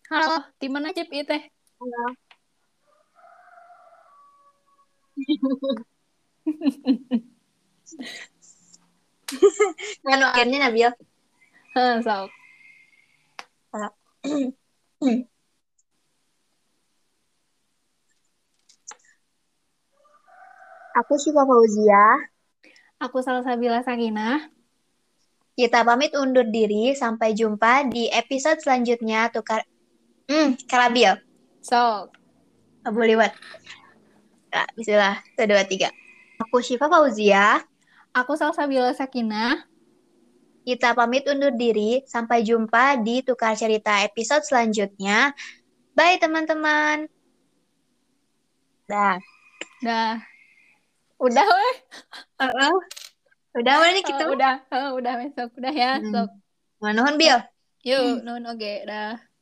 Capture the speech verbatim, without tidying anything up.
Halo, di mana Cip itu teh? Halo. Nganu akhirnya Nabil. Heh, sok. Halo. Aku Syifa Fauzia. Aku Salsabila Sakinah. Kita pamit undur diri. Sampai jumpa di episode selanjutnya. Tukar. Hmm, Kalabil. Sok. Abu liwat. Nah, bismillah. Satu, dua, tiga. Aku Syifa Fauzia. Aku Salsabila Sakinah. Kita pamit undur diri. Sampai jumpa di Tukar Cerita episode selanjutnya. Bye, teman-teman. Dah. Dah. Udah weh. Uh-uh. Udah, mana nih Eh, kita? udah. Eh, udah besok. Udah ya, Hmm. sok. Nuhun, Eh, Bil. yuk, nun oke, dah.